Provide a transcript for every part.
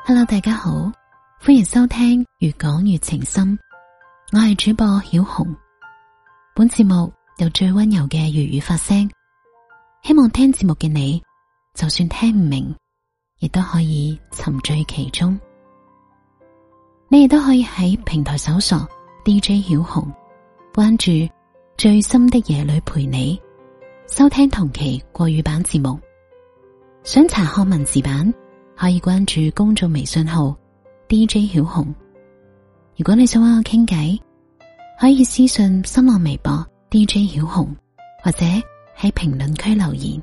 Hello， 大家好，歡迎收聽越講越情深，我係主播曉紅。本節目由最溫柔嘅粵語發聲，希望聽節目嘅你，就算聽唔明，亦都可以沉醉其中。你亦都可以喺平台搜索 DJ 曉紅，關注最深的夜裏陪你，收聽同期國語版節目。想查看文字版，可以關注公眾微信號 DJ 曉紅。如果你想揾我傾偈，可以私信新浪微博 DJ 曉紅，或者喺評論區留言。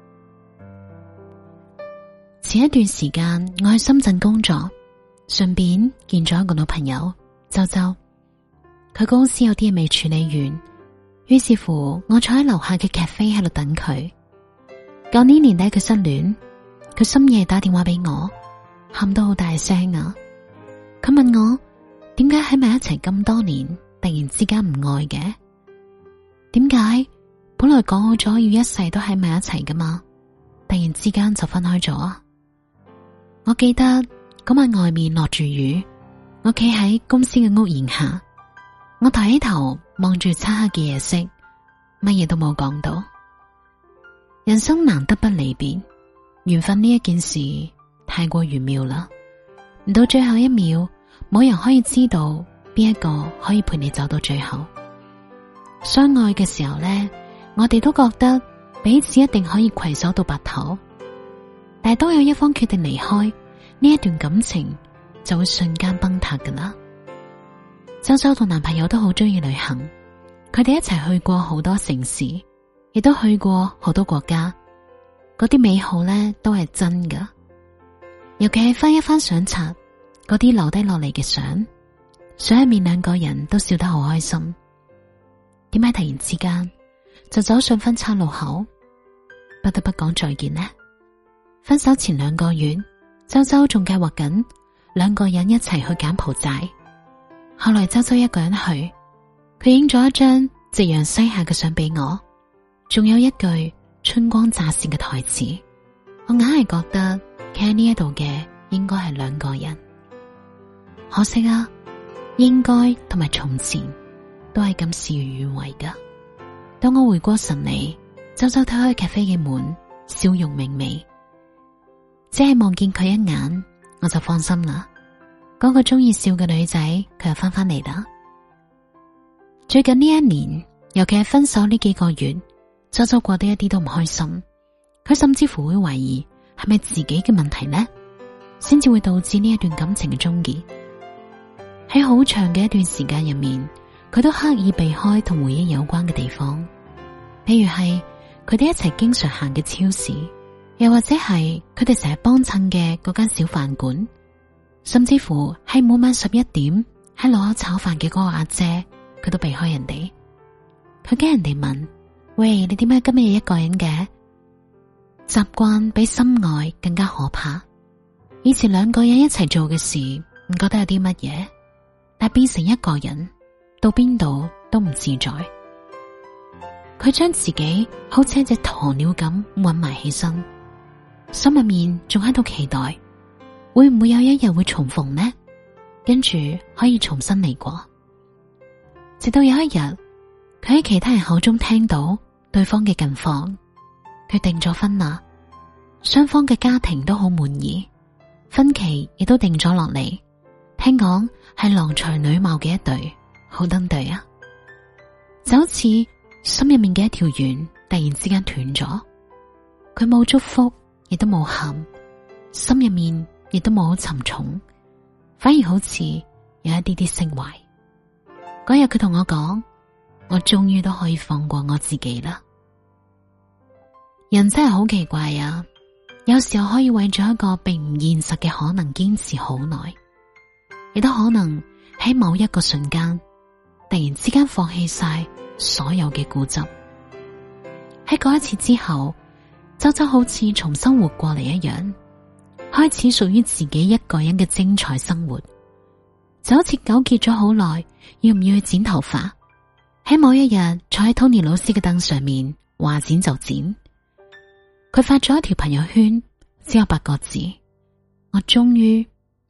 前一段時間我去深圳工作，順便見咗一個老朋友周周。佢公司有啲嘢未處理完，於是乎我坐喺樓下嘅咖啡喺度等佢。舊年年底佢失戀，佢深夜打電話俾我，喊到好大聲啊！佢問我點解喺埋一齊咁多年，突然之間唔愛嘅？點解本來講好咗要一世都喺埋一齊噶嘛，突然之間就分開咗啊？我記得嗰晚外面落住雨，我企喺公司嘅屋檐下，我抬起頭望住漆黑嘅夜色，乜嘢都冇講到。人生難得不離別，緣分呢一件事太過玄妙啦，唔到最後一秒，冇人可以知道邊一個可以陪你走到最後。相愛嘅時候呢，我哋都覺得彼此一定可以攜手到白頭，但係當有一方決定離開，呢一段感情就會瞬間崩塌噶啦。周周同男朋友都好中意旅行，佢哋一齊去過好多城市，亦都去過好多國家，嗰啲美好呢都係真噶。尤其係翻一翻相冊，嗰啲留低落嚟嘅相入面兩個人都笑得好開心。點解突然之間就走上分岔路口，不得不講再見呢？分手前2個月，周周仲計劃緊兩個人一齊去柬埔寨，後來周周一個人去，佢影咗一張夕陽西下嘅相俾我，仲有一句春光乍泄嘅台詞，我硬係覺得企喺呢一度嘅應該係2個人。可惜啊，應該同埋從前都係咁事與願違噶。當我回過神嚟，周周推開咖啡嘅門，笑容明媚，只係望見佢一眼，我就放心啦。嗰個中意笑嘅女仔，佢又翻嚟啦。最近呢一年，尤其係分手呢幾個月，周周過得一啲都唔開心，佢甚至乎會懷疑係咪自己嘅問題呢，先至會導致呢一段感情嘅終結。喺好長嘅一段時間入面，佢都刻意避開同回憶有關嘅地方，譬如係佢哋一齊經常行嘅超市，又或者係佢哋成日幫襯嘅嗰間小飯館，甚至乎係每晚11點喺路口炒飯嘅嗰個阿姐，佢都避開人哋。佢驚人哋問，喂，你點解今日一個人嘅？習慣比深愛更加可怕。以前2個人一齊做嘅事唔覺得有啲乜嘢，但變成一個人，到邊度都唔自在。佢將自己好似一隻鴕鳥咁韞埋起身，心入面仲喺度期待，會唔會有一日會重逢呢？跟住可以重新嚟過。直到有一日，佢喺其他人口中聽到對方嘅近況，佢訂咗婚啦，雙方嘅家庭都好滿意，婚期亦都定咗落嚟。聽講係郎才女貌嘅一對，好登對啊！就好似心入面嘅一條弦突然之間斷咗，佢冇祝福，亦都冇喊，心入面亦都冇好沉重，反而好似有一啲啲釋懷。嗰日佢同我講，我終於都可以放過我自己啦。人真係好奇怪啊，有時候可以為咗一個並唔現實嘅可能堅持好耐，亦都可能喺某一個瞬間突然之間放棄晒所有嘅固執。喺嗰一次之後，周周好似重新活過嚟一樣，開始屬於自己一個人嘅精彩生活。就好似糾結咗好耐要唔要去剪頭髮，喺某一日坐喺 Tony 老師嘅凳上面，話剪就剪。佢發咗一條朋友圈，只有8個字：我終於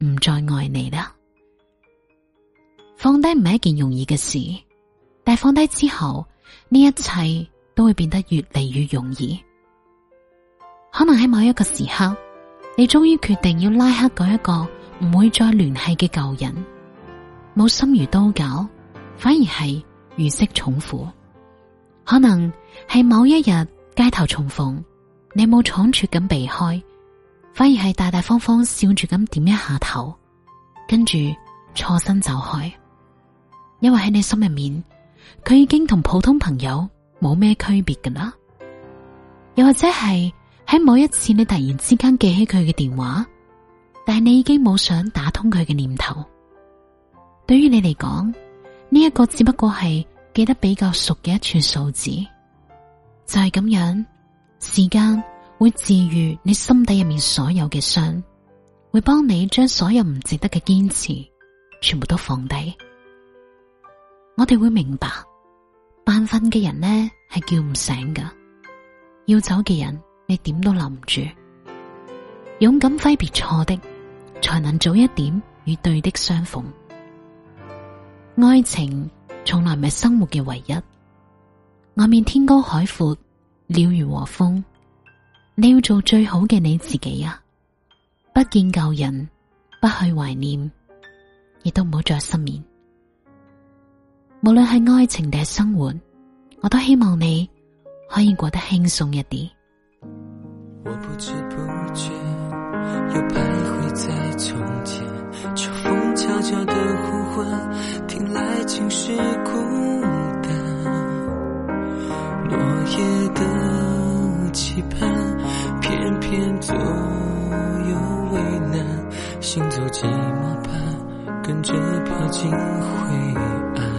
唔再愛你啦。放低唔係一件容易嘅事，但係放低之後，呢一切都會變得越嚟越容易。可能喺某一個時刻，你終於決定要拉黑嗰一個唔會再聯繫嘅舊人，冇心如刀絞，反而係如釋重負。可能係某一日街頭重逢，你冇倉促咁避開，反而係大大方方笑住咁點一下頭，跟住錯身走開。因為喺你心入面，佢已經同普通朋友冇咩區別㗎啦。又或者係喺某一次你突然之間記起佢嘅電話，但係你已經冇想打通佢嘅念頭。對於你嚟講，呢一個只不過係記得比較熟嘅一串數字。就係咁樣，時間會治愈你心底入面所有嘅傷，會幫你將所有唔值得嘅堅持全部都放低。我哋會明白，扮瞓嘅人呢係叫唔醒㗎，要走嘅人你點都留唔住。勇敢揮別錯的，才能早一點與對的相逢。愛情從來唔係生活嘅唯一。外面天高海闊，鳥語和風，你要做最好嘅你自己啊！不見舊人，不去懷念，亦都唔好再失眠。無論係愛情定係生活，我都希望你可以過得輕鬆一啲。 我不知不覺又徘徊在從前，秋風悄悄的呼喚，聽來竟是孤單。落葉的期盼，偏偏左右為難，行走寂寞般，跟着飄進灰暗。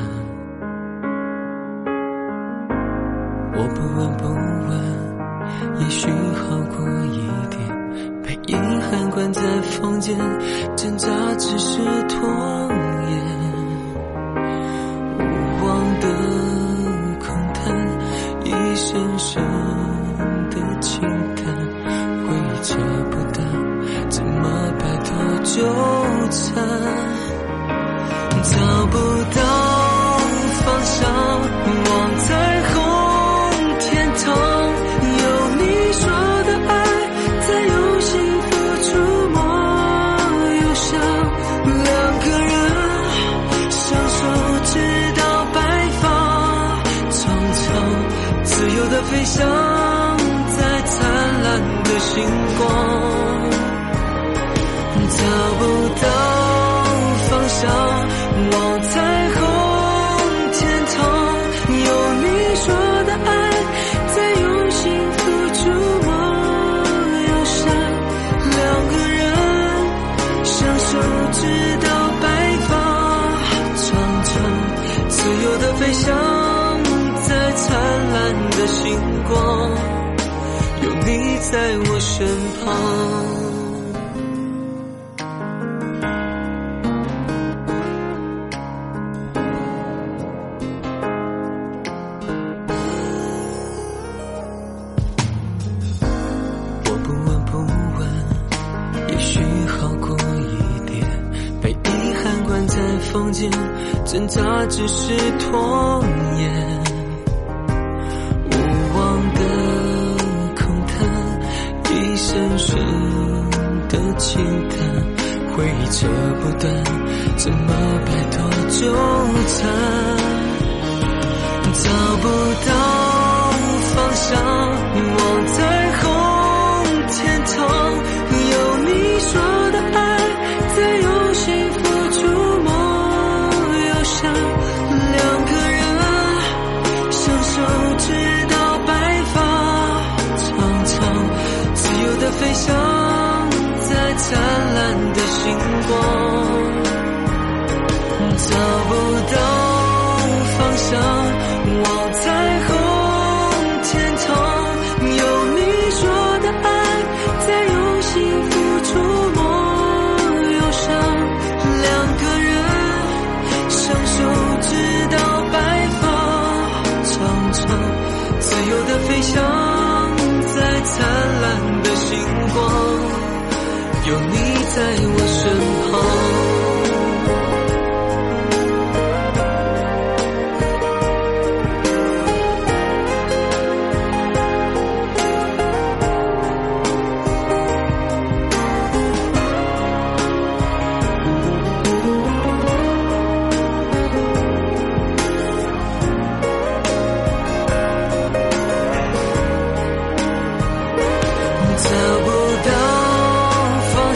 我不問不問，也許好過一點，被遺憾關在房間，掙扎只是拖延。無望的空談，一聲聲的輕淡，回憶扯不到，怎麼擺脫糾纏，找不到方向，望彩虹天堂，有你說的愛，在用幸福觸摸憂傷，兩個人相守直到白髮蒼蒼，自由的飛翔在燦爛的星光，找不到方向，望彩虹天堂，有你說的愛，在用幸福觸摸憂傷，兩個人相守直到白髮蒼蒼，自由的飛翔在燦爛的星光，有你在我身旁。房間掙扎只是拖延，無望的空談，一聲聲的輕淡，回憶扯不斷，怎麼擺脫糾纏，找不到方向，望彩虹天堂，有你說的愛，在用幸福觸摸兩個人相守直到白髮蒼蒼，自由的飛翔在燦爛的星光，找不到方向，望彩虹天堂，有你說的愛，在用幸福觸摸憂傷，兩個人相守直到白髮蒼蒼，自由的飛翔在燦爛的星光，有你在我身旁。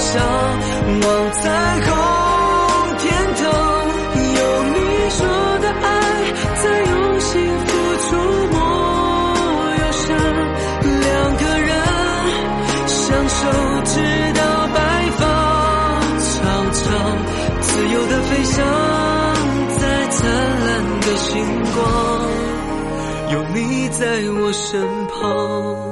向，望彩虹天堂，有你说的爱在用心付出，莫忧伤，两个人相守直到白发苍苍，自由的飞翔在灿烂的星光，有你在我身旁。